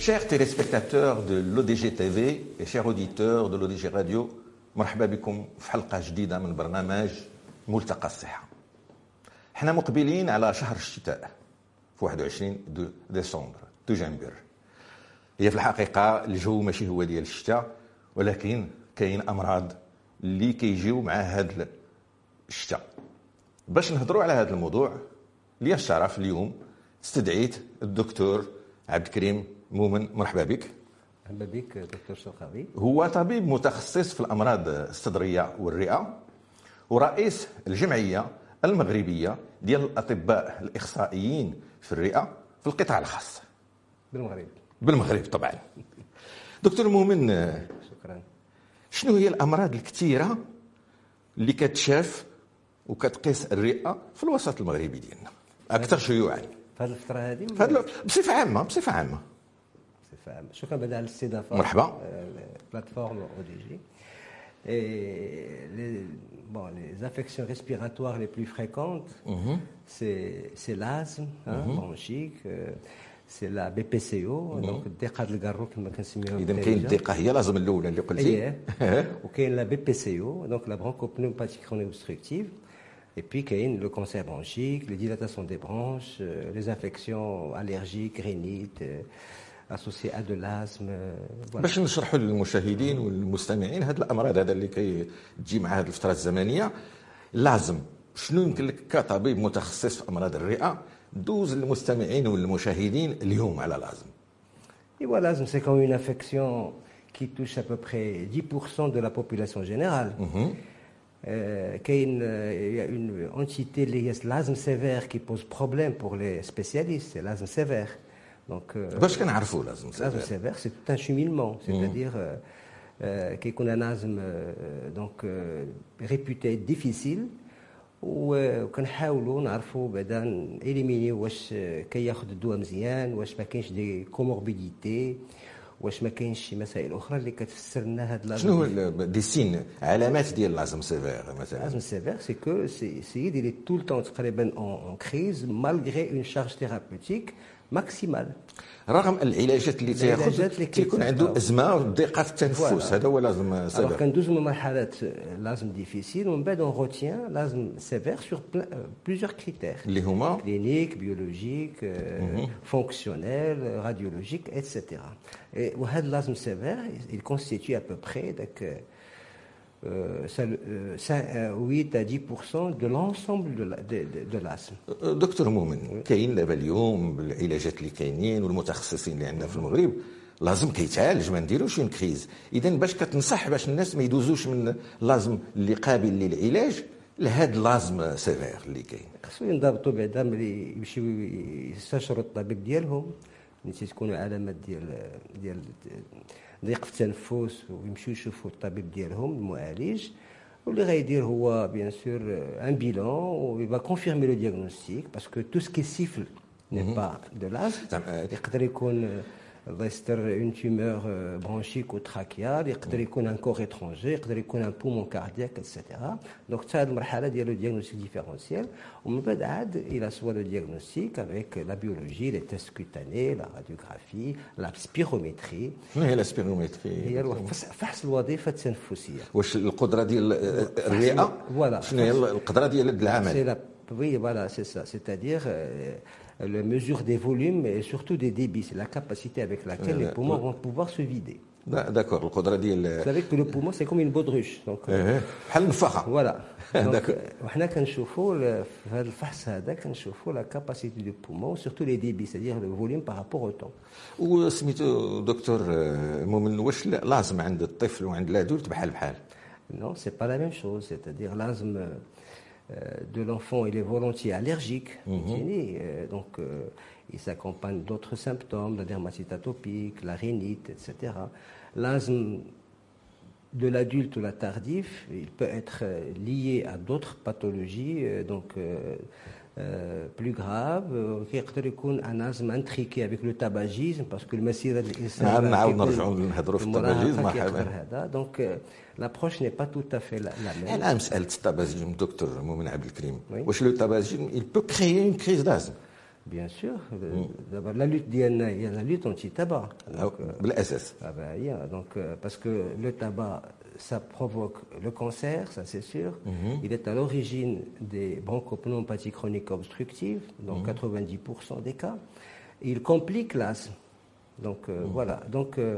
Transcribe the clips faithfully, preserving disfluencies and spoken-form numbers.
Chers téléspectateurs de l'O D G T V et chers auditeurs de l'O D G Radio, مرحبا بكم في حلقة جديدة من برنامج ملتقى الصحة. احنا مقبلين على شهر الشتاء في واحد وعشرين ديسمبر دجنبر. هي في الحقيقة الجو ماشي هو ديال الشتاء، ولكن كاين أمراض اللي كيجيو مع هذا الشتاء. باش نهضروا على هذا الموضوع لي الشرف اليوم استدعيت الدكتور عبد الكريم مؤمن. مرحبا بك. مرحبا بك دكتور شرقاوي. هو طبيب متخصص في الأمراض الصدرية والرئة ورئيس الجمعية المغربية ديال الأطباء الإخصائيين في الرئة في القطاع الخاص بالمغرب. بالمغرب طبعا. دكتور مؤمن، شكرا. شنو هي الأمراض الكثيرة اللي كتشاف وكتقيس الرئة في الوسط المغربي ديالنا أكثر شيوعا في هذه الفترة هذه بصفة عامة؟ بصفة عامة. بصفة عامة. شكرا بعد على الاستضافة. مرحبا. البلاتفورم أو دي جي. Et les, bon, les affections respiratoires les plus fréquentes, mm-hmm. c'est, c'est l'asthme hein, mm-hmm. bronchique, euh, c'est la B P C O, mm-hmm. donc الدقة القارو كما كنسميوها. إذا كاين الدقة هي لازم الأولى اللي قلتي. وكاين la B P C O, donc la bronchopneumopathie chronique obstructive. Et puis, il y a le cancer bronchique, les dilatations des bronches, euh, les infections allergiques, rhinites, euh, associées à de l'asthme. Euh, voilà. باش نشرحوا للمشاهدين والمستمعين هذه الامراض هذا اللي كيجي مع هذه الفتره الزمنيه، لازم شنو يمكن لك كطبيب متخصص في امراض الرئه دوز للمستمعين والمشاهدين اليوم على لازم؟ Et voilà, l'asthme, c'est comme une infection qui touche à peu près dix pour cent de la population générale. Mm-hmm. Euh, qu'il y a une entité liée à l'asthme sévère qui pose problème pour les spécialistes, c'est l'asthme sévère. Donc, euh, l'asthme sévère, c'est tout un cheminement, c'est-à-dire euh, qu'il y a un asthme euh, donc, euh, réputé difficile, و كنحاولوا نعرفوا بعدا إليميني واش كياخذ الدواء مزيان، واش ما كاينش دي كوموربيديتي، واش ما كاينش شي مسائل اخرى اللي كتفسر لنا هذا اللازم. شنو دي سين علامات ديال لازم سيفير مثلا؟ لازم سيفير سي كو سي سيد اللي طول الوقت تقريبا اون كريز مالغري اون شارج ثيرابوتيك ماكسيمال، رغم العلاجات اللي تاخذ كيكون عنده ازمه ضيقه في التنفس. هذا هو لازم سيفير. alors كندوز من مرحله لازم ديفيسيل ومن بعد اون روتيان لازم سيفير سور بليزيور كريتير اللي هما كلينيك بيولوجيك فونكسيونيل راديولوجيك ايتترا. وهذا لازم سيفير il constitue à peu près داك huit à dix pour cent de l'ensemble de, de, de, de l'asthme. دكتور مؤمن، كاين دابا اليوم بالعلاجات اللي كاينين والمتخصصين اللي عندنا في المغرب لازم كيتعالج، ما نديروش اون كريز. اذا باش كتنصح باش الناس ما يدوزوش من لازم اللي قابل للعلاج لهذا لازم سيفير اللي كاين؟ خصو ينضبطوا بعدا ملي يمشيو يستشروا الطبيب ديالهم ملي تكونوا علامات ديال ديال ضيق في التنفس، ويمشيو يشوفوا الطبيب ديالهم المعالج، واللي غيدير هو بيان سور ان بيلون و va confirmer le diagnostic parce que tout ce qui siffle n'est pas de l'asthme. يقدر يكون الله يستر اون تيمور برونشيك وتراكيال، يقدر يكون ان كور اترونجي، يقدر يكون ان بومون كاردياك ايتترا. دونك حتى هذه المرحله ديال لو ديagnostic ديفيرونسيال، ومن بعد عاد الى سوا لو ديagnostic افيك لا بيولوجي، لي تيست كوتاني، لا راديوغرافي، لا سبيرومتري. شنو هي لا سبيرومتري؟ هي فحص الوظيفه التنفسيه. واش القدره ديال الرئه؟ شنو هي القدره ديال العمل؟ Oui, voilà, c'est ça. C'est-à-dire euh, la mesure des volumes et surtout des débits. C'est la capacité avec laquelle euh, les poumons euh, vont pouvoir se vider. D'accord. القدرة ديال. Vous savez que le poumon c'est comme une baudruche. Donc. بحال النفاخة. Voilà. Donc وحنا كنشوفوا في هذا الفحص هذا كنشوفوا la capacité du poumon, surtout les débits, c'est-à-dire le volume par rapport au temps. وسميتو دكتور مؤمن، واش لازم عند الطفل وعند الادولت بحال بحال؟ Non, c'est pas la même chose. C'est-à-dire l'asthme de l'enfant, il est volontiers allergique, mm-hmm. euh, donc euh, il s'accompagne d'autres symptômes, la dermatite atopique, la rhinite, et cetera. L'asthme de l'adulte ou la tardif, il peut être lié à d'autres pathologies, euh, donc euh, euh, plus graves. يقدر يكون un asthme intriqué avec le tabagisme, parce que المسيرة الإنسان نعاود نرجعوا نهضروا في التباجيزم. Donc euh, l'approche n'est pas tout à fait la, la même. الآن مسألة التباجيزم دكتور مؤمن عبد الكريم، واش لو tabagisme il peut créer une crise d'asthme؟ Bien sûr. D'abord, la lutte ديالنا هي la lutte anti-tabac. بالاساس. Ah ben, yeah, donc, euh, parce que le tabac, ça provoque le cancer, ça c'est sûr. Mm-hmm. Il est à l'origine des bronchopneumopathie chronique obstructive, dans mm-hmm. quatre-vingt-dix pour cent des cas. Et il complique l'asthme. Donc euh, mm-hmm. voilà. Donc euh,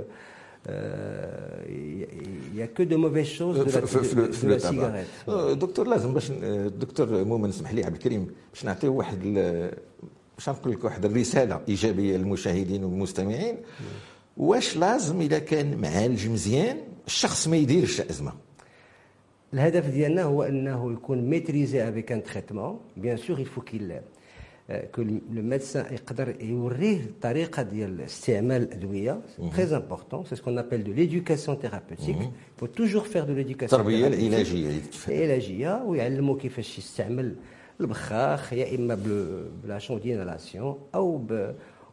il n'y a que de mauvaises choses de la, de, de, de la cigarette. دكتور لازم باش دكتور مؤمن اسمح لي عبد الكريم باش نعطيه واحد باش نقول لك واحد الرساله ايجابيه للمشاهدين والمستمعين. واش لازم اذا كان معالج مزيان الشخص ما يديرش ازمه؟ الهدف ديالنا هو انه يكون ميتريزي افيك ان تريتمون. بيان سور il faut qu'il que le médecin يقدر يوريه الطريقه ديال استعمال الادويه. très important, c'est ce qu'on appelle de l'éducation thérapeutique. il faut toujours faire de l'éducation التربيه العلاجيه العلاجيه ويعلموا كيفاش يستعمل البخاخ يا اما بلا شوندينالاسيون او ب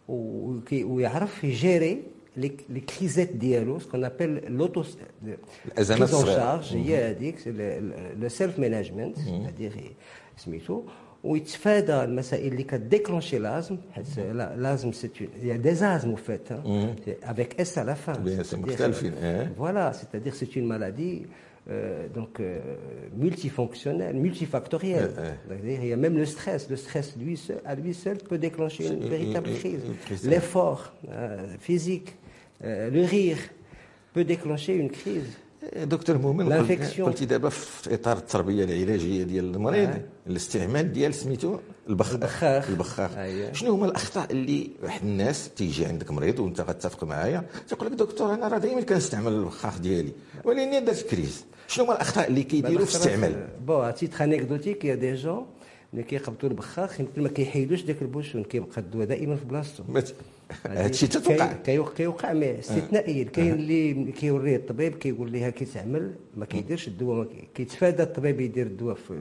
ويعرف يجيري لي كريزات ديالو سكون ابل لوتو الازمات الشارج هي هذيك لو سيلف مانجمنت هذيك سميتو ويتفادى المسائل اللي كديكلونشي لازم حيت لازم سي يا دي زازم فات افيك اس على فان مختلفين فوالا سيتادير سي اون مالادي Euh, donc euh, multifonctionnel, multifactoriel. Euh, euh. Il y a même le stress. Le stress, lui seul, à lui seul, peut déclencher une véritable crise. L'effort euh, physique, euh, le rire, peut déclencher une crise. دكتور مؤمن قلتي دابا في اطار التربيه العلاجيه ديال المريض آه. الاستعمال ديال سميتو البخاخ البخاخ آه. شنو هما الاخطاء اللي واحد الناس تيجي عندك مريض وانت غتتفق معايا تيقول لك دكتور انا راه دائما كنستعمل البخاخ ديالي ولكن درت كريز. شنو هما الاخطاء اللي كيديروا في الاستعمال؟ بون تيتر انيكدوتيك يا دي جون اللي كيقبطوا البخاخ يمكن ما كيحيدوش داك البوشون كيبقى الدواء دائما في بلاصتو. هادشي تتوقع كيوقع مي استثنائيا. كاين اللي كيوريه الطبيب كيقول لها كيتعمل ما كيديرش الدواء كيتفادى الطبيب يدير الدواء في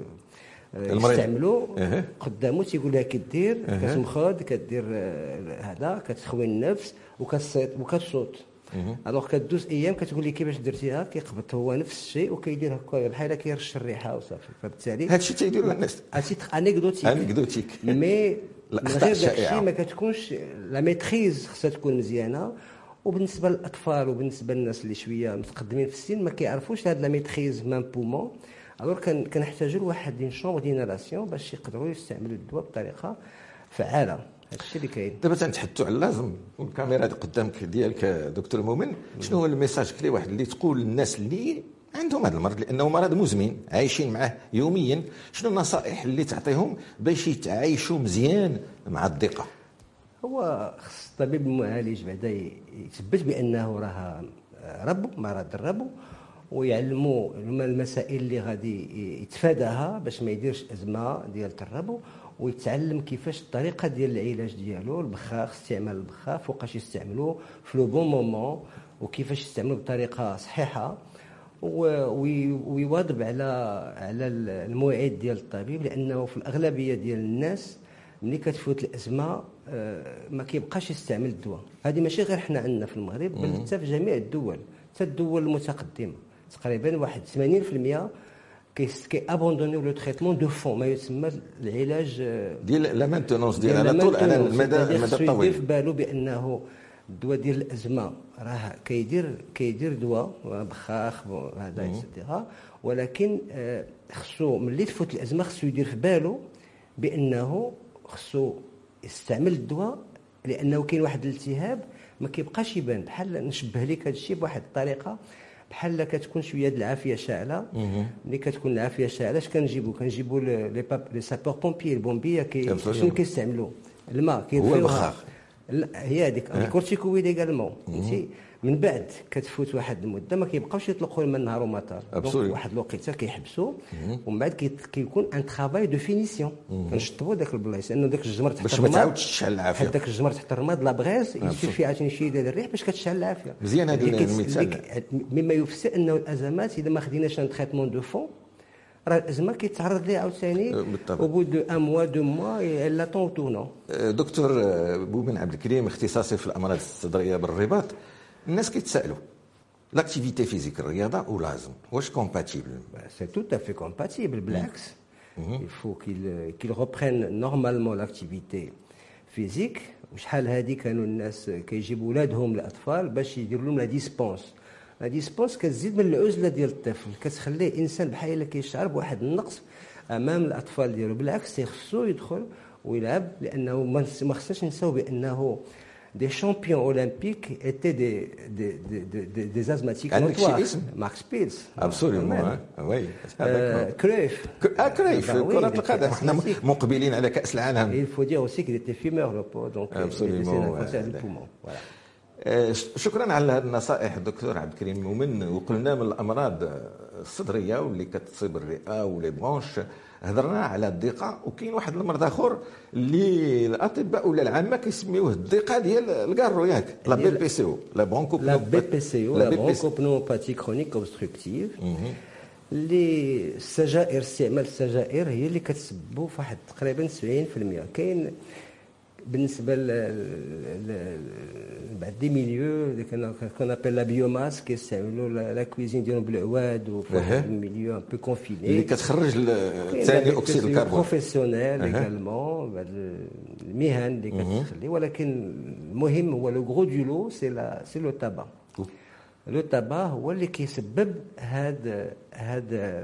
يستعملوا قدامه تيقول لها كدير كتمخض كدير هذا كتخوي النفس وكتصوت وكتصوت الوغ كدوز ايام كتقول لي كيفاش درتيها كيقبط هو نفس الشيء وكيدير هكا بحال كيرش الريحه وصافي. فبالتالي هادشي تيديروا الناس هادشي انيكدوتيك انيكدوتيك مي الاخطاء الشائعه ما كتكونش لا ميتريز خصها تكون مزيانه. وبالنسبه للاطفال وبالنسبه للناس اللي شويه متقدمين في السن ما كيعرفوش هاد لا ميتريز مام بومون. الوغ كنحتاجوا لواحد دين شومبر دينالاسيون باش يقدروا يستعملوا الدواء بطريقه فعاله. هادشي اللي كاين. دابا تنتحدثوا على اللازم والكاميرا قدامك ديالك دكتور مؤمن. شنو هو الميساج كلي واحد اللي تقول للناس اللي عندهم هذا المرض لانه مرض مزمن عايشين معه يوميا؟ شنو النصائح اللي تعطيهم باش يتعايشوا مزيان مع الضيقه؟ هو خص الطبيب المعالج بعدا يثبت بانه راه ربو مرض الربو ويعلموا المسائل اللي غادي يتفاداها باش ما يديرش ازمه ديال الربو ويتعلم كيفاش الطريقه ديال العلاج ديالو البخاخ استعمال البخاخ وقاش يستعملوه في لو بون مومون وكيفاش يستعملوه بطريقه صحيحه ويواظب على على الموعد ديال الطبيب لانه في الاغلبيه ديال الناس ملي كتفوت الازمه ما كيبقاش يستعمل الدواء. هذه ماشي غير حنا عندنا في المغرب بل حتى في جميع الدول حتى الدول المتقدمه تقريبا واحد ثمانين بالمئة كي ابوندونيو لو تريتمون دو فون ما يسمى العلاج ديال لا مانتونونس ديال على طول على المدى المدى الطويل. يدير في بالو بانه الدواء ديال الازمه راه كيدير كيدير دواء بخاخ هذا اكسيتيرا ولكن خصو ملي تفوت الازمه خصو يدير في بالو بانه خصو يستعمل الدواء لانه كاين واحد الالتهاب ما كيبقاش يبان. بحال نشبه لك هذا الشيء بواحد الطريقه بحال كتكون شويه د العافيه شاعله. ملي كتكون العافيه شاعله اش كنجيبوا كنجيبوا لي لي سابور بومبيي البومبيه كي شنو كيستعملوا الماء هو البخاخ هي هذيك الكورتيكويد ايغالمون فهمتي. من بعد كتفوت واحد المده ما كيبقاوش يطلقوا الماء النهار ومطار واحد الوقيته كيحبسوا ومن بعد كيكون ان ترافاي دو فينيسيون كنشطبوا داك البلايص لانه داك الجمر تحت باش ما تعاودش تشعل العافيه. داك الجمر تحت الرماد لا بغيز يسيفي عاوتاني شي ديال الريح باش كتشعل العافيه. مزيان هذا المثال. مما يفسر انه الازمات اذا ما خديناش ان تريتمون دو فون راه الازمه كيتعرض ليها عاوتاني او بو دو ان موا دو موا لا طون تورنون. دكتور مؤمن عبد الكريم اختصاصي في الامراض الصدريه بالرباط. الناس كيتسالوا لاكتيفيتي فيزيك الرياضه ولازم واش كومباتيبل؟ سي تو افي كومباتيبل بالعكس. il faut qu'il qu'il reprenne normalement l'activité فيزيك. وشحال هذه كانوا الناس كيجيبوا ولادهم الاطفال باش يديروا لهم لا ديسبونس. لا ديسبونس كتزيد من العزله ديال الطفل، كتخليه انسان بحال الا كيشعر بواحد النقص امام الاطفال ديالو. بالعكس خصو يدخل ويلعب، لانه ما خصناش نساو بانه des champions olympiques étaient des, des, des, des, des asthmatiques notoires. Max Pils. Absolument, oui. Cruyff. Ah, Cruyff, كرة القدم. احنا مقبلين على كأس العالم. Il faut dire aussi qu'il était fumeur, le pauvre, donc il était un cancer du poumon. Voilà. شكرا على هذه النصائح دكتور عبد الكريم. ومن وقلنا من الامراض الصدريه واللي كتصيب الرئه ولي برونش، هضرنا على الضيقه، وكاين واحد المرض اخر اللي الاطباء ولا العامه كيسميوه الضيقه ديال الكارو، ياك لا بي بي سي او، لا برونكو لا بي بي سي او، لا برونكوبنوموباثي كرونيك اوبستركتيف. اللي السجائر، استعمال السجائر هي اللي كتسببوا في واحد تقريبا سبعين بالمئة. كاين بالنسبه لبعض دي ميليو اللي كنا ابل لا بيوماس كيستعملوا لا كويزين ديالهم بالعواد، وفي واحد الميليو ان بو كونفيني اللي كتخرج ثاني اكسيد الكربون. بروفيسيونيل ايغالمون، بعض المهن اللي كتخلي. ولكن المهم هو لو غرو دو لو سي لا سي لو تابا. لو تابا هو اللي كيسبب هاد هاد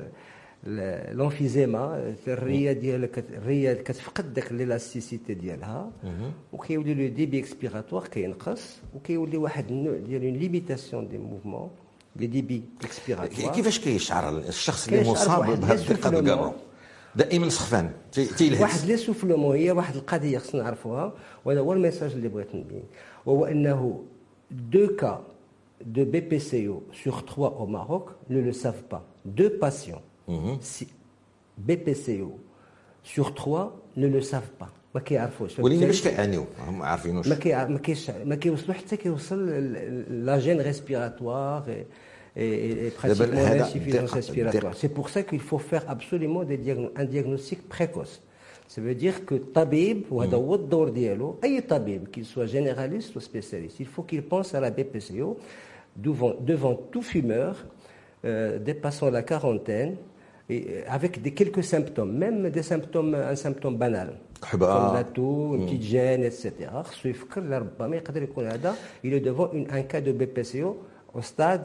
لونفيزيما. الريه ديالك الريه كتفقد داك ليلاستيسيتي ديالها، وكيولي لو ديبي اكسبيراتوار كينقص، وكيولي واحد النوع ديال اون ليميتاسيون دي موفمون لي ديبي اكسبيراتوار. كيفاش كيشعر الشخص اللي مصاب بهذه الضيقه الكارو؟ دائما سخفان تيلهث. واحد لي سوفلومون هي واحد القضيه خصنا نعرفوها، وهذا هو الميساج اللي بغيت نبين، وهو انه دو كا de B P C O sur trois au Maroc ne le savent pas. Deux patients Mmh. Si B P C O sur trois ne le savent pas. ما كيعرفوش. ولكن باش كيعانيو ما عارفينوش. ما كي ما كيش ما كيوصلوا حتى كيوصل لا جين ريسبيراتوار et pratiquement l'insuffisance respiratoire. C'est pour ça qu'il faut faire absolument des diagno- un diagnostic précoce. Ça veut dire que طبيب، وهذا هو الدور ديالو، اي طبيب qu'il soit généraliste ou spécialiste, il faut qu'il pense à la B P C O devant devant tout fumeur euh, dépassant la quarantaine, et avec des quelques symptômes, même des symptômes, un symptôme banal, comme la toux, une petite gêne, et cetera. خصو يفكر لربما يقدر يكون هذا il est devant une, un cas de B P C O au stade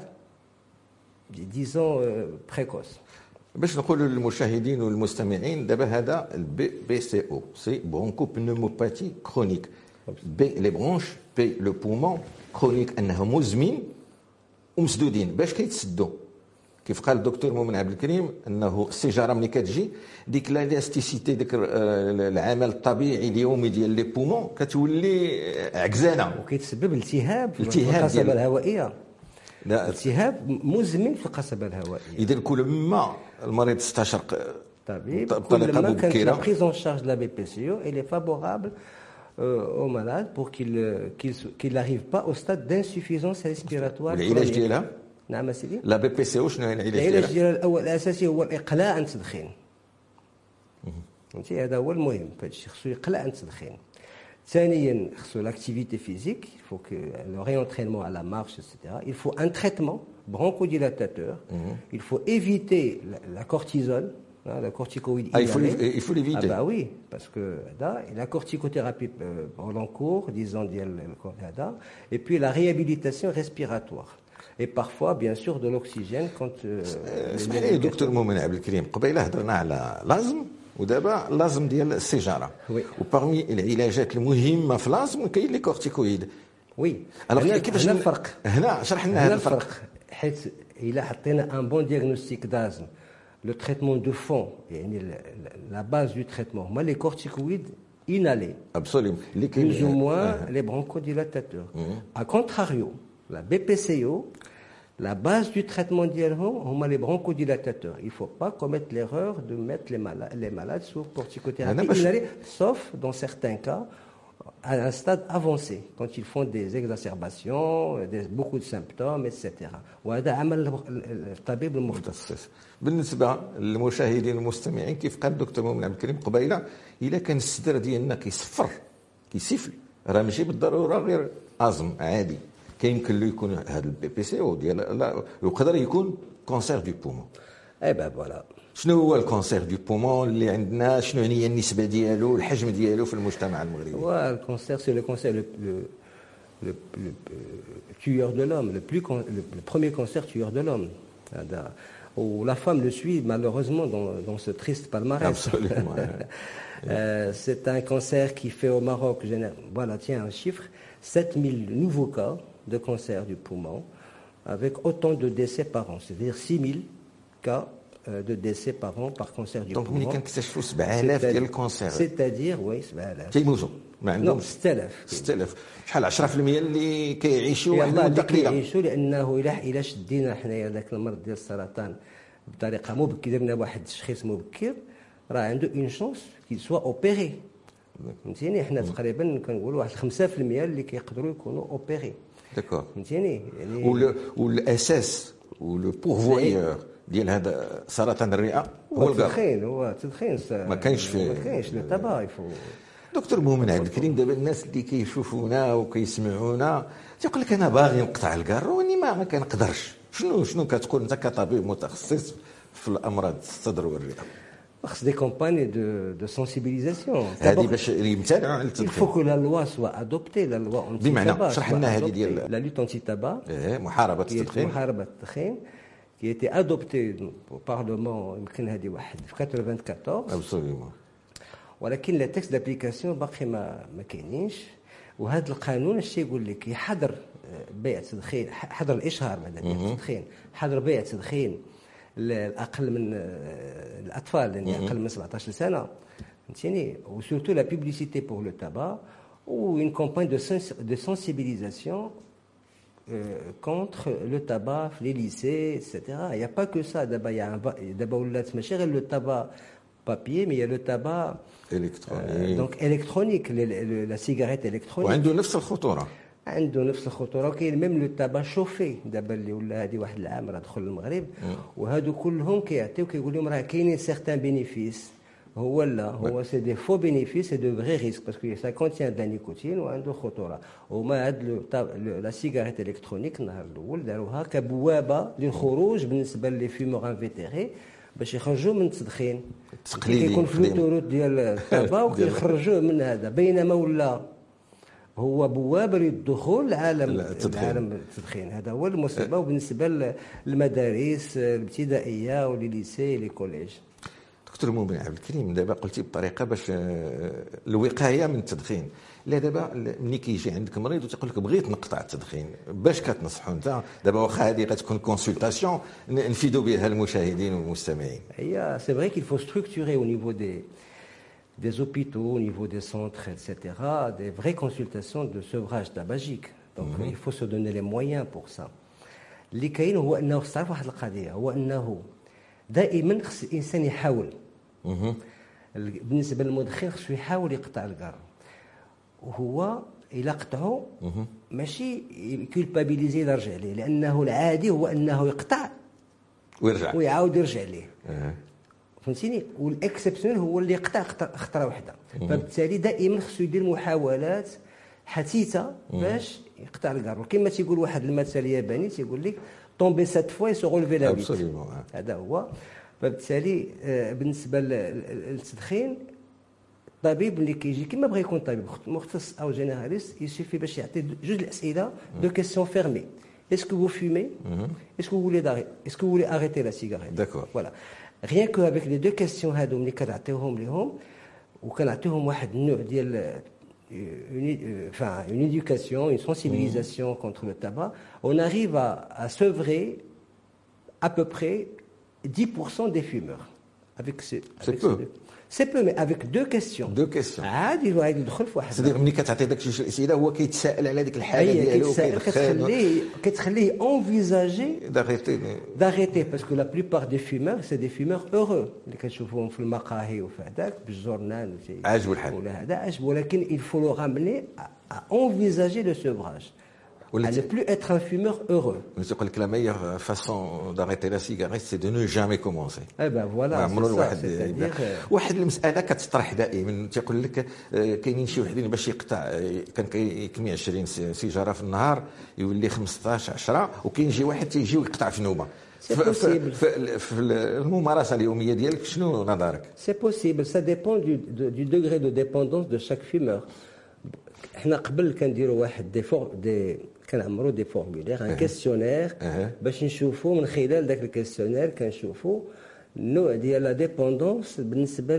disons euh, précoce. باش نقولوا للمشاهدين والمستمعين، دابا هذا البي بي سي او سي برونكو بنوموباثي كرونيك. بي لي برونش، بي لو بومون، كرونيك انه مزمن ومسدودين. باش كيتسدوا؟ كيف قال الدكتور مؤمن عبد الكريم انه السيجاره ملي كتجي ديك لاستيسيتي، ديك العمل الطبيعي اليومي ديال لي بومون كتولي عكزانه، وكيتسبب التهاب في القصبه الهوائيه. لا التهاب مزمن في القصبه الهوائيه. اذا كل ما المريض استشرق طبيب بطريقه مبكره، لا بريز اون شارج لا بي بي سي او elle est favorable au malade pour qu'il qu'il qu'il n'arrive pas au stade d'insuffisance respiratoire. العلاج ديالها؟ نعم سيدي. لا بي بي سي او شنو هي العلاج ديالها؟ العلاج ديالها الاول الاساسي هو الاقلاع عن التدخين. فهمتي، هذا هو المهم في هذا الشيء، خصو يقلع عن التدخين. ثانيا خصو لاكتيفيتي فيزيك، il faut que le réentraînement à la marche et cetera. Il faut un traitement bronchodilatateur. Il faut éviter la, la cortisone, hein, la corticoïde. Ah, il faut il faut l'éviter. Ah bah oui, parce que là, la corticothérapie euh, en l'encours, disons là, et puis la réhabilitation respiratoire. Et parfois, bien sûr, de l'oxygène quand. اسمح لي دكتور مؤمن عبد الكريم، قبيله هضرنا على لازم، ودابا لازم ديال السيجاره. وبارمي العلاجات المهمه في لازم كاين لي كورتيكويد. وي. هنا كيفاش هنا الفرق؟ هنا شرح لنا هذا الفرق. حيت الا حطينا ان بون دياغنوستيك دازم، لو تريتمون دو فون، يعني لا باز دو تريتمون هما لي كورتيكويد inhalés. Absolument. Plus ou moins uh-huh. les bronchodilatateurs. Uh-huh. A contrario, la B P C O, la base du traitement dialhom, on a les bronchodilatateurs. Il ne faut pas commettre l'erreur de mettre les malades, les malades sous corticothérapie inhalée, sauf dans certains cas à un stade avancé, quand ils font des exacerbations, des, beaucoup de symptômes, et cetera. وهذا عمل الطبيب المختص. بالنسبه للمشاهدين والمستمعين، كيف قال الدكتور مؤمن عبد الكريم قبيله، الا كان الصدر ديالنا كيصفر كيسفل، راه ماشي بالضروره غير ازم عادي، كيمكن له يكون هذا البي بي سي او ديال، يقدر يكون كونسير دو بومون. اي ben voilà. شنو هو الكونسير دو بومون اللي عندنا؟ شنو هي النسبه ديالو الحجم ديالو في المجتمع المغربي؟ هو الكونسير سي لو كونسير لو le, le, le tueur de l'homme, le, plus, le, le premier cancer tueur de l'homme. Où la femme le suit malheureusement dans, dans ce triste palmarès. Absolument. euh, c'est un cancer qui fait au Maroc, voilà, tiens un chiffre, sept mille nouveaux cas de cancer du poumon, avec autant de décès par an, c'est-à-dire six mille cas de décès par an par cancer du Donc, poumon. C'est-à-dire, c'est-à-dire, oui, كيموتوا ما عندهم ستة آلاف ستة آلاف شحال عشرة في المية اللي كيعيشوا واحد المده المده قليله كيعيشوا لانه الا الا شدينا حنايا ذاك المرض ديال السرطان بطريقه مبكره درنا واحد التشخيص مبكر راه عنده اون شونس كي سوا اوبيري فهمتيني حنا تقريبا كنقولوا واحد خمسة في المية اللي كيقدروا يكونوا اوبيري داكور فهمتيني يعني والاساس ولو بورفويور ديال هذا سرطان الرئه هو التدخين هو التدخين ما كاينش فيه ما كاينش لو تبا يفو دكتور مؤمن عبد الكريم دابا الناس اللي كيشوفونا وكيسمعونا تيقول لك انا باغي نقطع الكار واني ما ما كنقدرش شنو شنو كتقول انت كطبيب متخصص في الامراض الصدر والرئه؟ خص دي كومباني دو دو سونسيبيليزاسيون هذه باش يمتنعوا على التدخين. الفو كو لا لوا سوا ادوبتي لا لوا اونتي بمعنى شرح لنا هذه ديال لا لوت اونتي تابا ايه محاربه التدخين محاربه التدخين qui a été adopté au Parlement يمكن هذه واحد في ألفين وأربعطاش ابسوليومون ولكن لا تكست دابليكاسيون باقي ما ما كاينينش وهذا القانون اش يقول لك يحظر بيع التدخين حظر الاشهار بعد بيع التدخين حظر بيع التدخين الاقل من الاطفال يعني اقل من سبعطاش سنه فهمتيني وسورتو لا بوبليسيتي بور لو تابا ou une campagne de, sens de sensibilisation euh, contre le tabac, les lycées, et cetera. Il n'y a pas que ça. D'abord, il y a un d'abord le tabac papier, mais il y a le tabac électronique. Euh, donc électronique, le, le, la cigarette électronique. وعنده نفس الخطورة. عنده نفس الخطورة وكاين ميم لو تابا شوفي دابا اللي ولا هذه واحد العام راه دخل المغرب وهادو كلهم كيعطيو كيقول لهم راه كاينين سيغتان بينيفيس هو لا هو سي دي فو بينيفيس سي دو فري ريسك باسكو سا كونتيان دا نيكوتين وعنده خطوره وما هاد لا سيغاريت الكترونيك النهار الاول داروها كبوابه للخروج بالنسبه لي فيمور انفيتيري باش يخرجوا من التدخين التقليدي كيكون في لوتوروت ديال التبا وكيخرجوا من هذا بينما ولا هو بوابه للدخول لعالم العالم التدخين هذا هو المصيبه وبالنسبه للمدارس الابتدائيه ولي لي كوليج. دكتور مؤمن عبد الكريم دابا قلتي بطريقه باش الوقايه من التدخين لا دابا ملي كيجي عندك مريض وتيقول لك بغيت نقطع التدخين باش كتنصحوا انت دابا واخا هذه غتكون كونسلطاسيون نفيدوا بها المشاهدين والمستمعين هي سي فري كيل فو ستركتوري او نيفو دي des hôpitaux, au niveau des centres, et cetera, des vraies consultations de sevrage tabagique. Donc mm-hmm. il faut se donner les moyens pour ça. اللي كاين هو انه خص تعرف واحد القضيه هو انه دائما خص الانسان يحاول. اها بالنسبه للمدخن خصو يحاول يقطع الكار. وهو الا قطعه ماشي كولبابيليزي يرجع ليه لانه العادي هو انه يقطع ويرجع ويعاود يرجع ليه. أه. فهمتيني والاكسبسيونيل هو اللي يقطع خطره واحده فبالتالي دائما خصو يدير محاولات حثيثه باش يقطع الكار وكما تيقول واحد المثل الياباني تيقول لك طومبي سات فوا يسو غولفي لا ويت هذا هو فبالتالي بالنسبه للتدخين الطبيب اللي كيجي كما بغى يكون طبيب مختص او جينيراليست يسيفي باش يعطي جوج الاسئله دو كيسيون فيرمي est-ce que vous fumez est-ce que vous voulez est-ce que vous voulez arrêter la cigarette d'accord voilà rien que avec les deux questions هادو ملي كنعطيوهم ليهم وكنعطيوهم واحد النوع ديال une, enfin, une éducation, une sensibilisation mmh. contre le tabac, on arrive à, à sevrer à peu près dix pour cent des fumeurs. Avec ce, c'est peu. Ce, c'est peu, mais avec deux questions. Deux questions. عادي الواحد يدخل في واحد. c'est-à-dire ملي كتعطي داك الشيء الاسئله هو كيتسائل على ديك الحاله ديالو كتخليه كتخليه envisager d'arrêter d'arrêter parce que la plupart des fumeurs c'est des fumeurs heureux اللي كتشوفوهم في المقاهي وفي هذاك بالجورنال عاجبو الحال ولا هذا عاجبو ولكن il faut le ramener à envisager le sevrage. À ne plus être un fumeur heureux. يقول لك la meilleure façon d'arrêter la cigarette c'est de ne jamais commencer. Eh ben voilà. عمرو الواحد واحد المساله كتطرح دائما تيقول لك كاينين شي وحدين باش يقطع كان كيكمي عشرين سيجاره في النهار يولي خمسطاش عشرة وكاين شي واحد تيجي ويقطع في نوبه C'est possible. في الممارسه اليوميه ديالك شنو نظرك؟ C'est possible, ça dépend du, de, du degré de dépendance de chaque fumeur. احنا قبل كنديروا واحد دي فور دي كنعمروا دي فورمولير ان كيسيونير باش نشوفوا من خلال ذاك الكيسيونير كنشوفوا النوع ديال لا ديبوندونس بالنسبه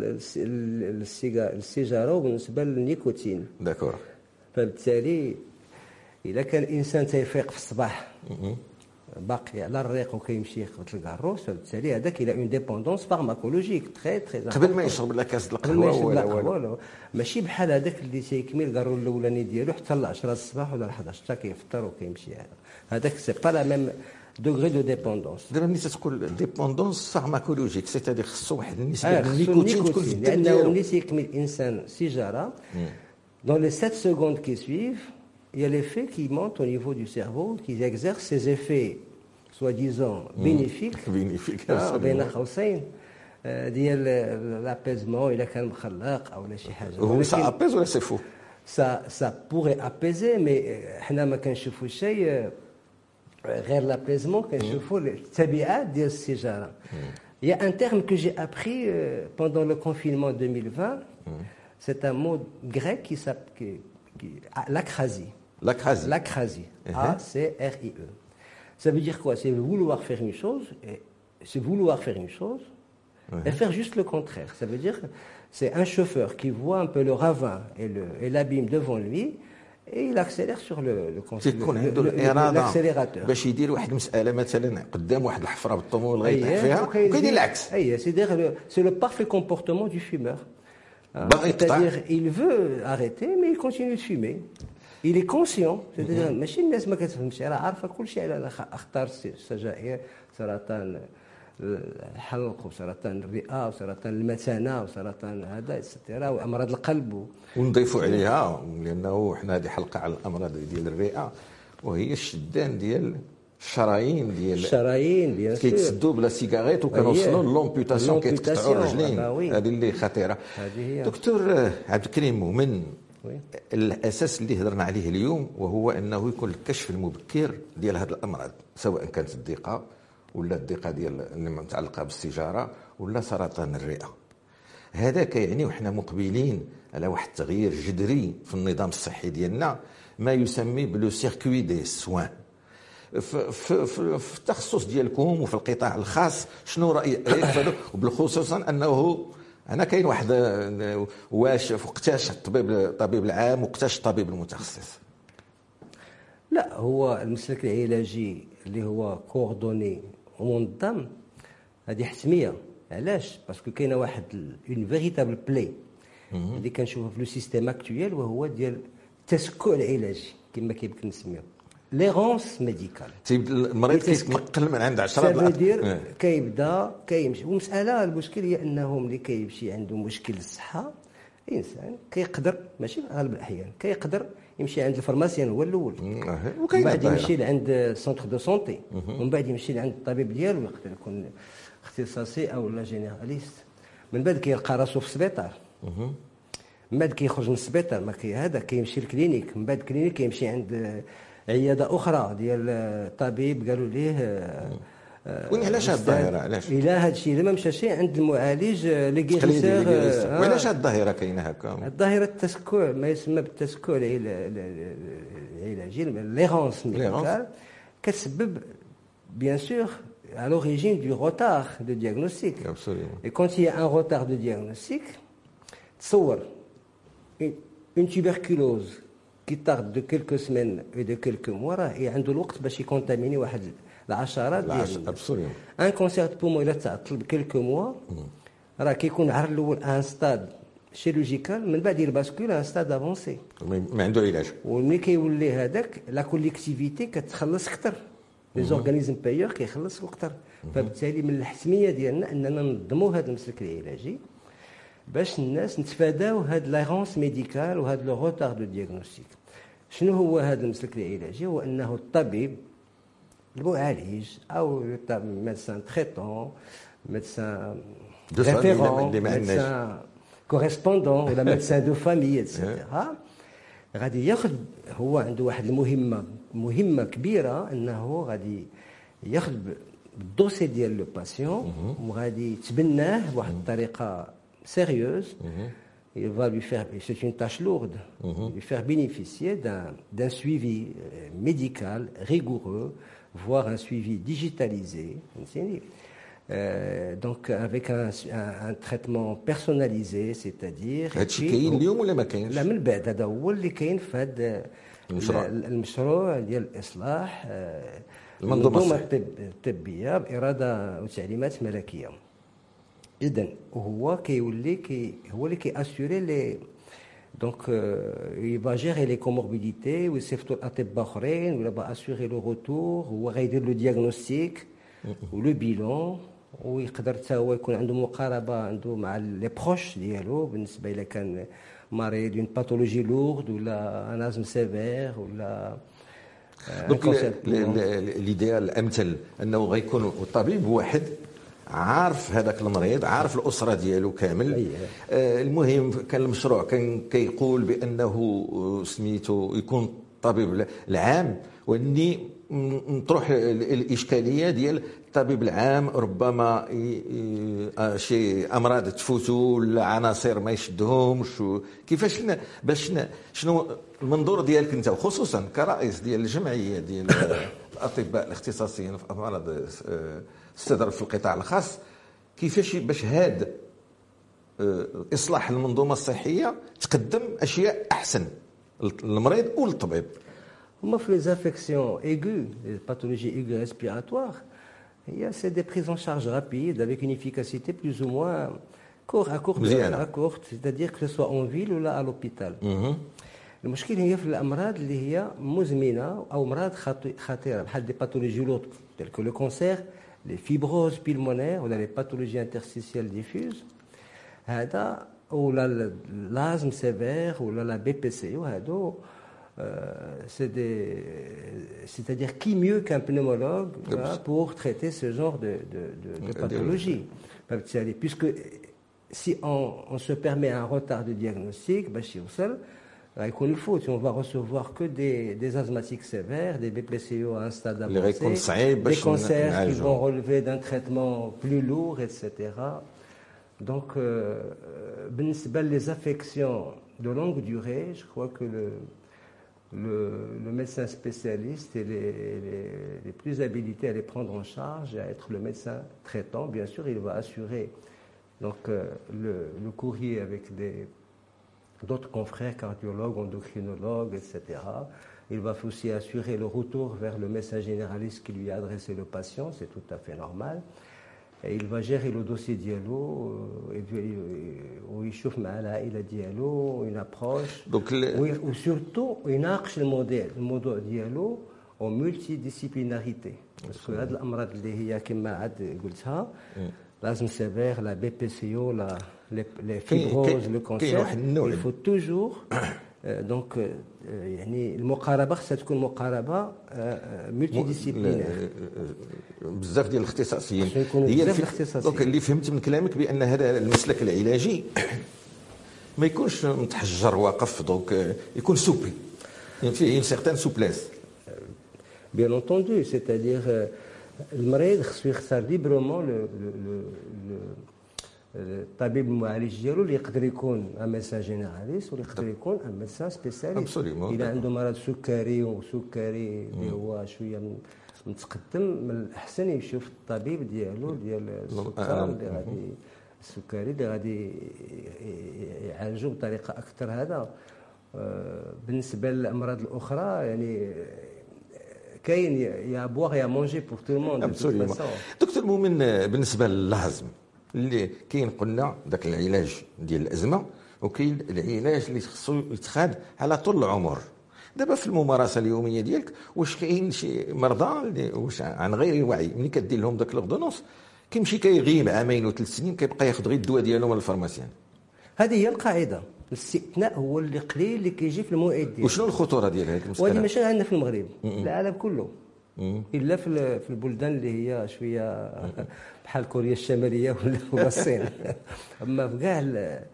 للسيجاره وبالنسبه للنيكوتين. داكور. فبالتالي اذا كان الانسان تيفيق في الصباح باقي على الريق وكيمشي يخبط الكاروس، فبالتالي هذاك الى اون ديبوندونس فارماكولوجيك تري تري قبل ما يشرب لا كاس القهوه ولا ولا ماشي بحال هذاك اللي تيكمل الكارو الاولاني ديالو حتى ل عشرة الصباح ولا حداش حتى كيفطر وكيمشي. هذاك سي با لا ميم دوغري دو ديبوندونس. دابا ملي تقول ديبوندونس فارماكولوجيك سيتادير خصو واحد النسبه آه النيكوتين تكون في الدم لانه ديالو. ملي تيكمل الانسان سيجاره dans les sept secondes qui suivent il y a l'effet qui monte au niveau du cerveau qui exerce ses effets soi-disant bénéfiques bénéfique بين قوسين ديال لابيزمون الا كان مخلق او لا شي حاجه. هو سا ابيز ولا سي فو؟ ça ça pourrait apaiser mais حنا ما كنشوفوا شيء غير l'apaisemement كنشوفوا التبعات ديال السيجاره. Il y a un terme que j'ai appris pendant le confinement deux mille vingt. C'est un mot grec qui s'appelle l'acrasie. L'acrasie. L'acrasie. A C R I E. Ça veut dire quoi? C'est vouloir faire une chose, et c'est vouloir faire une chose et faire juste le contraire. Ça veut dire c'est un chauffeur qui voit un peu le ravin et le et l'abîme devant lui et il accélère sur le le l'accélérateur. باش يدير واحد المساله مثلا قدام واحد الحفره بالطوموبيل غيطيح فيها وكيدير العكس. اي c'est-à-dire c'est le parfait comportement du fumeur. C'est-à-dire il veut arrêter mais il continue de fumer. Il est conscient. C'est-à-dire ماشي الناس ما كتفهمش راه عارفه كل شيء على انا اختار السجائر سرطان الحلق وسرطان الرئه وسرطان المثانه وسرطان هذا اكسترا وامراض القلب. ونضيفوا عليها لانه حنا هذه حلقه على الامراض ديال الرئه وهي الشدان ديال الشرايين ديال الشرايين بيان سور كيتسدوا بلا سيجاريت وكنوصلوا لومبيوتاسيون كيتقطعوا الرجلين. هذه اللي خطيره. دكتور عبد الكريم مؤمن الاساس اللي هضرنا عليه اليوم وهو انه يكون الكشف المبكر ديال هذه الامراض سواء كانت الضيقه ولا الضيقه ديال اللي متعلقه بالسيجاره ولا سرطان الرئه. هذاك يعني وحنا مقبلين على واحد التغيير جذري في النظام الصحي ديالنا ما يسمى بلو سيركوي دي سوان. في, في, في, في التخصص ديالكم وفي القطاع الخاص شنو رايك وبالخصوص انه انا كاين واحد واش وقتاش الطبيب الطبيب العام وقتاش الطبيب المتخصص؟ لا هو المسلك العلاجي اللي هو كوردوني ومنظم هذه حتميه. علاش؟ باسكو كاينه واحد اون فيريتابل بلاي اللي كنشوفها في لو سيستيم اكطويل وهو ديال التسكع العلاجي كما كيمكن نسميوه ليغونس ميديكال. المريض كيتنقل من عند عشرة ديال كيبدا كيمشي. والمساله المشكل هي انه ملي كيمشي عنده مشكل الصحه الانسان كيقدر ماشي في اغلب الاحيان كيقدر يمشي عند الفارماسيان هو الاول ومن بعد يمشي لعند سونتر دو سونتي ومن بعد يمشي لعند الطبيب ديالو يقدر يكون اختصاصي او لا جينيراليست. من بعد كيلقى راسو في السبيطار من بعد كيخرج من السبيطار ما كي هذا كيمشي للكلينيك من بعد الكلينيك كيمشي عند عياده اخرى ديال الطبيب قالوا ليه وين علاش هاد الظاهره علاش الى هذا الشيء لما مشى عند المعالج لي غيسير وعلاش هاد الظاهره كاينه هكا؟ الظاهره التسكع ما يسمى بالتسكع العلاجي ليغونس ميديكال كتسبب بيان سور à l'origine du retard de diagnostic. Absolument. Et quand il y a un retard de diagnostic, تصور une tuberculose qui tarde de quelques semaines et de quelques mois راه عنده الوقت باش يكونتاميني واحد العشرات ديال ابسوليوم. ان كونسير دو بومون الا تعطل بكلكو موا راه كيكون عر الاول ان ستاد شيروجيكال من بعد يباسكول ان ستاد افونسي ما عنده علاج. وملي كيولي هذاك لا كوليكتيفيتي كتخلص اكثر لي زورغانيزم بايور كيخلصوا اكثر. فبالتالي من الحتميه ديالنا اننا ننظموا هذا المسلك العلاجي باش الناس نتفاداو هاد لاغونس ميديكال وهاد لو روتار دو دياغنوستيك. شنو هو هذا المسلك العلاجي؟ هو انه الطبيب المعالج او ميدسان تريتون ميدسان ريفيرون ميدسان كوريسبوندون ولا ميدسان دو فامي اتسيتيرا غادي ياخذ هو عنده واحد المهمه مهمه كبيره انه غادي ياخذ الدوسي ديال لو باسيون وغادي يتبناه بواحد الطريقه سيريوز. Il va lui faire, c'est une tâche lourde, mm-hmm. lui faire bénéficier d'un, d'un suivi médical rigoureux, voire un suivi digitalisé. Euh, donc avec un, un, un traitement personnalisé, c'est-à-dire هادشي كاين اليوم ولا ما كاينش؟ لا من بعد هذا هو اللي كاين في هذا المشروع المشروع ديال الاصلاح المنظومه الطبيه باراده وتعليمات ملكيه. اذا هو كيولي كي هو اللي كياسيوري لي دونك يبا جيري لي كوموربيديتي ويصيفطوا الاطباء اخرين ولا با اسيوري لو روتور. هو غيدير لو دياغنوستيك ولو بيلون ويقدر حتى هو يكون عنده مقاربه عنده مع لي بروش ديالو بالنسبه الى كان مريض اون باثولوجي لورد ولا ان ازم سيفير ولا دونك ليديال الامثل انه غيكون الطبيب واحد عارف هذاك المريض، عارف الاسره ديالو كامل. آه المهم كان المشروع كان كيقول بانه سميتو يكون الطبيب العام، واني نطرح الاشكاليه ديال الطبيب العام ربما شي امراض تفوتوا ولا عناصر ما يشدهمش. كيفاش باش شنو المنظور ديالك انت وخصوصا كرئيس ديال الجمعيه ديال الاطباء الاختصاصيين في امراض الصدر في القطاع الخاص، كيفاش باش هذا اصلاح المنظومه الصحيه تقدم اشياء احسن للمريض وللطبيب؟ هما في les infections aiguës, les pathologies aiguës respiratoires, il y a c'est des prises en charge rapides avec une efficacité plus ou moins courte, à courte, à courte, c'est-à-dire que ce soit en ville ou là à l'hôpital. المشكل هي في الامراض اللي هي مزمنه او امراض خطيره بحال دي باثولوجي لوط telles que le cancer, les fibroses pulmonaires ولا les pathologies interstitielles diffuses هذا ولا l'asthme sévère ولا la B P C وهذو. Euh, c'est des, c'est-à-dire qui mieux qu'un pneumologue là, pour traiter ce genre de, de, de, de pathologie. Puisque si on, on se permet un retard de diagnostic, bah, si on seul, il faut, on va recevoir que des, des asthmatiques sévères, des B P C O à un stade avancé, des cancers qui vont relever d'un traitement plus lourd, et cetera. Donc, euh, les affections de longue durée, je crois que le Le, le médecin spécialiste est les, les, les plus habilités à les prendre en charge et à être le médecin traitant. Bien sûr, il va assurer donc, euh, le, le courrier avec des, d'autres confrères cardiologues, endocrinologues, et cetera. Il va aussi assurer le retour vers le médecin généraliste qui lui a adressé le patient, c'est tout à fait normal. Et il va gérer le dossier dialo, où il chauffe العائلة dialo, une approche, Donc, le... ou surtout il ناقش الموديل الموضوع ديالو en multidisciplinarité. Parce que هاد الأمراض اللي هي كما عاد قلتها l'asthme sévère, la B P C O, la les fibroses, le cancer, il faut toujours donc يعني المقاربه خصها تكون مقاربه ملتي ديسيبلينير. بزاف ديال الاختصاصيين هي دونك اللي فهمت من كلامك بان هذا المسلك العلاجي ما يكونش متحجر واقف، دونك يكون سوبل، يعني فيه une certaine souplesse. Bien entendu, c'est-à-dire المريض خصو يختار ليبرمون لو لو الطبيب المعالج ديالو اللي يقدر يكون ان ميدسان جينيراليست ولا يقدر يكون ان ميدسان سبيسياليست. اذا عنده مرض سكري وسكري اللي هو شويه متقدم، من الاحسن يشوف الطبيب ديالو ديال السكر اللي غادي السكري اللي غادي يعالجو بطريقه اكثر. هذا بالنسبه للامراض الاخرى يعني كاين يا بوغ يا مونجي بور تو الموند. دكتور مؤمن، بالنسبه للهضم اللي كاين قلنا ذاك العلاج ديال الازمه، وكاين العلاج اللي خصو يتخاد على طول العمر. دابا في الممارسه اليوميه ديالك واش كاين شي مرضى اللي واش عن غير وعي ملي كدير لهم ذاك الاغدونوس كيمشي كيغيب عامين وثلاث سنين كيبقى ياخذ غير الدواء ديالو من الفارماسيان؟ هذه هي القاعده. الاستثناء هو اللي قليل اللي كيجي في الموعد ديالو. وشنو الخطوره ديال هذه المساله؟ وهذه ماشي عندنا في المغرب، العالم كله، الا في في البلدان اللي هي شويه بحال كوريا الشماليه ولا الصين. اما في كاع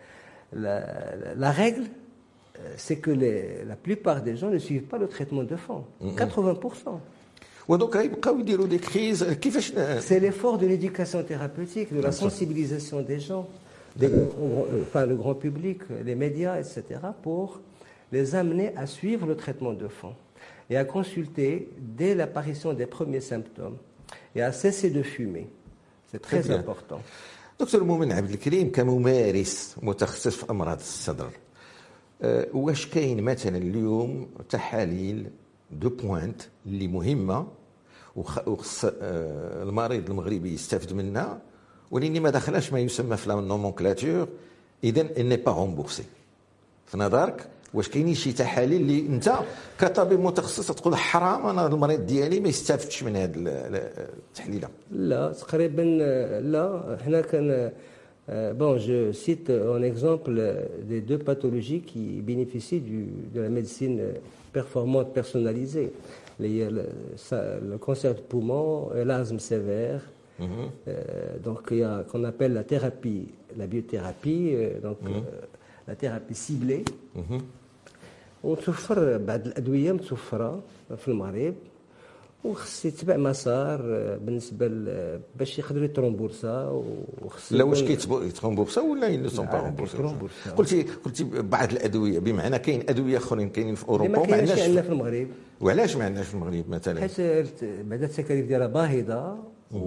لا رègle c'est que les, la plupart des gens ne suivent pas le traitement de fond. quatre-vingts pour cent. ودوك غيبقاو يديروا دي كريز كيفاش. C'est l'effort de l'éducation thérapeutique, de la sensibilisation des gens, des, enfin le grand public, les médias, et cetera, pour les amener à suivre le traitement de fond et à consulter dès l'apparition des premiers symptômes et à cesser de fumer. C'est très important. دكتور مؤمن عبد الكريم كممارس متخصص في امراض الصدر، أه واش كاين مثلا اليوم تحاليل دو بوينت اللي مهمه وخص أه المريض المغربي يستافد منها ولكن ما دخلش ما يسمى في النومونكلاتور، اذا ني با رومبورسي؟ في نظرك واش كاينين شي تحاليل اللي انت كطبيب متخصص تقول حرام انا المريض ديالي ما يستافدش من هذه التحليله؟ لا تقريبا لا. حنا كان bon je cite en exemple des deux pathologies qui bénéficient du, de la médecine performante personnalisée, les, le, ça, le cancer du poumon et l'asthme sévère. Mm-hmm. euh, donc il y a qu'on appelle la thérapie, la biothérapie, euh, donc mm-hmm. euh, la thérapie ciblée. Mm-hmm. وتوفر بعض الادويه متوفره في المغرب وخص يتبع مسار بالنسبه باش يقدروا يترومبورسا. وخص لا واش كيترومبورسا ولا اللي سون با رومبورسا؟ قلتي قلتي بعض الادويه، بمعنى كاين ادويه اخرين كاينين في اوروبا وما عندناش عندنا في المغرب. وعلاش ما عندناش في المغرب مثلا؟ حيت بعد التكاليف ديالها باهظه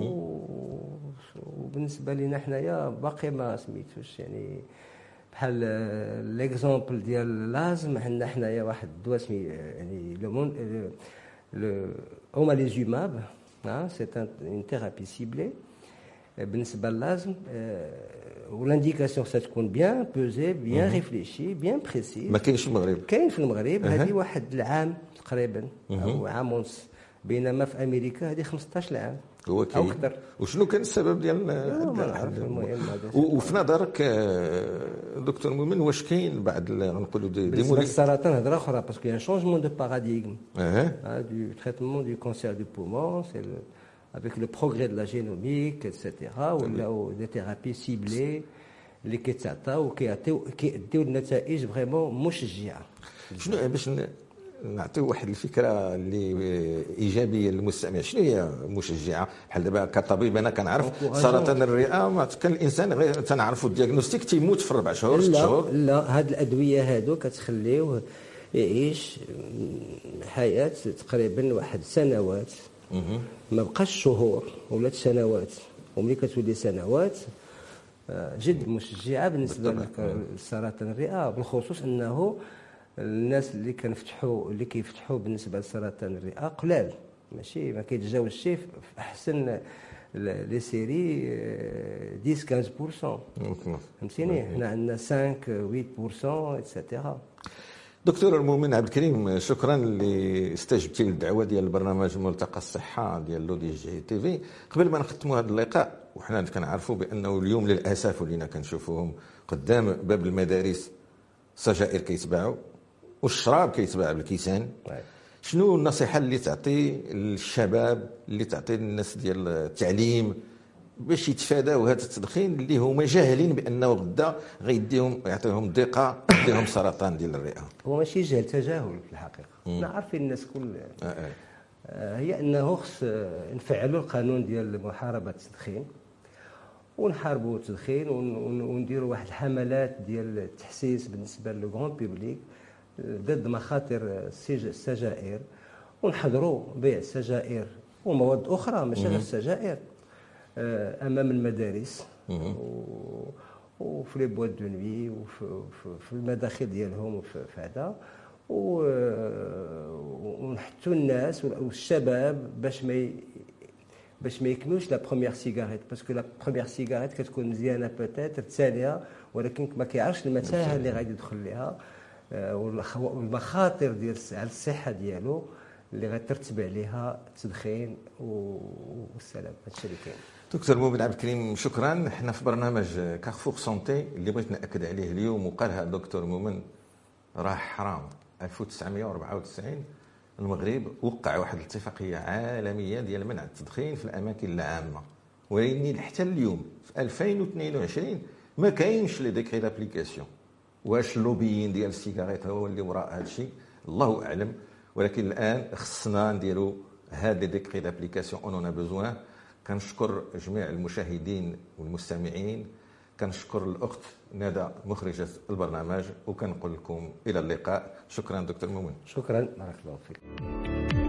وبالنسبه لنا حنايا باقي ما سميتوش. يعني بحال ليكزومبل ديال لازم عندنا حنايا واحد الدواء سمي يعني لو لو اوماليزوماب، سي ان ثيرابي سيبلي بالنسبه للازم، والانديكاسيون ستكون بيان بوزي بيان ريفليشي بيان بريسي. ما كاينش في المغرب؟ كاين في المغرب هذه واحد العام تقريبا او عام ونص، بينما في امريكا هذه خمسطاش عام هو كاين او اكثر. وشنو كان السبب ديال وفي نظرك دكتور مؤمن واش كاين بعد نقولوا دي دي مولي السرطان هضره اخرى باسكو ان شونجمون دو باراديغم du traitement du cancer du poumon, c'est le, avec le progrès de la génomique, et cetera, ou des thérapies ciblées اللي كيتعطاو وكيعطيو كيديو النتائج فريمون مشجعه. شنو باش نعطيو واحد الفكره اللي ايجابيه للمستمع، شنو هي مشجعه؟ بحال دابا كطبيب انا كنعرف سرطان الرئه ما كان الانسان غير تنعرفوا الدياغنوستيك تيموت في اربع شهور ست شهور. لا هاد الادويه هادو كتخليوه يعيش حياه تقريبا واحد سنوات، ما بقاش شهور ولات سنوات، وملي كتولي سنوات جد مشجعه بالنسبه لسرطان الرئه، بالخصوص انه الناس اللي كنفتحوا اللي كيفتحوا بالنسبه لسرطان الرئه قلال، ماشي ما كيتجاوزش شي في احسن لي سيري عشرة خمسطاش بالمئة. فهمتيني حنا عندنا خمسة ثمانية بالمئة ايتترا. دكتور مؤمن عبد الكريم، شكرا اللي استجبتي للدعوه ديال البرنامج ملتقى الصحه ديال لو دي جي تي في. قبل ما نختموا هذا اللقاء وحنا كنعرفوا بانه اليوم للاسف ولينا كنشوفوهم قدام باب المدارس سجائر كيتباعوا والشراب كيتباع بالكيسان، شنو النصيحه اللي تعطي للشباب اللي تعطي للناس ديال التعليم باش يتفاداو هذا التدخين اللي هما جاهلين بانه غدا غيديهم يعطيهم ضيقه يديهم سرطان ديال الرئه؟ هو ماشي جهل، تجاهل في الحقيقه. حنا عارفين الناس كل آه آه. هي انه خص نفعلوا القانون ديال محاربه التدخين ونحاربوا التدخين ونديروا واحد الحملات ديال التحسيس بالنسبه للو غون بوبليك ضد مخاطر السجائر، ونحضروا بيع السجائر ومواد اخرى ماشي غير السجائر امام المدارس وفي لي بواد دو نوي وفي المداخل ديالهم وفي هذا، ونحثوا الناس والشباب باش ما باش ما يكملوش لا بروميير سيجاريت، باسكو لا بروميير سيجاريت كتكون مزيانه بوتيتر الثانيه ولكن ما كيعرفش المتاهه اللي غادي يدخل لها والمخاطر ديال على الصحه ديالو اللي غترتب عليها التدخين والسلام. هادشي اللي كاين. دكتور مؤمن عبد الكريم شكرا. احنا في برنامج كارفور سونتي اللي بغيت ناكد عليه اليوم وقالها الدكتور مؤمن راه حرام. ألف وتسعمائة وأربعة وتسعين المغرب وقع واحد الاتفاقيه عالميه ديال منع التدخين في الاماكن العامه، ولكن حتى اليوم في ألفين واثنين وعشرين ما كاينش لي ديكري دابليكاسيون. واش اللوبيين ديال السيجاريت هو اللي وراء هذا الشيء؟ الله اعلم، ولكن الان خصنا نديروا هاد لي ديكري دابليكاسيون اون اون بوزوان. كنشكر جميع المشاهدين والمستمعين، كنشكر الاخت ندى مخرجه البرنامج، وكنقول لكم الى اللقاء. شكرا دكتور مؤمن. شكرا، بارك الله فيك.